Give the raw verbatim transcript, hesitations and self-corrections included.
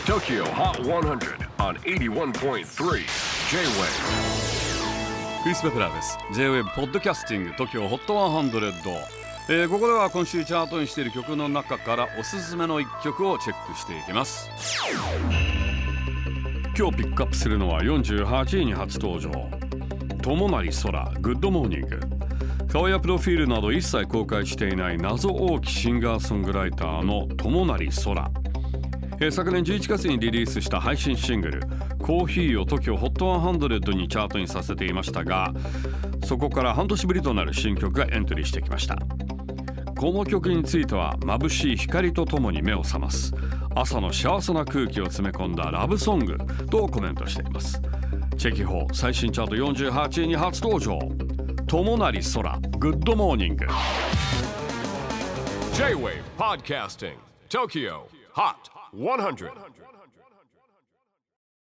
Tokyo Hot one hundred on エイティワンポイントスリー J-Wave。 クリス・ベプラーです。 J-Wave ポッドキャスティング TOKYO ホットひゃく、えー、ここでは今週チャートにしている曲の中からおすすめのいっきょくをチェックしていきます。今日ピックアップするのはよんじゅうはちいに初登場、友成空グッドモーニング。顔やプロフィールなど一切公開していない謎多きシンガーソングライターの友成空、えー、昨年じゅういちがつにリリースした配信シングルコーヒーを TOKYO ホットひゃくにチャートにさせていましたが、そこから半年ぶりとなる新曲がエントリーしてきました。この曲については眩しい光とともに目を覚ます朝の幸せな空気を詰め込んだラブソングとコメントしています。チェキホー最新チャートよんじゅうはちいに初登場、友成空グッドモーニング。 J-Wave Podcasting Tokyo Hot ひゃく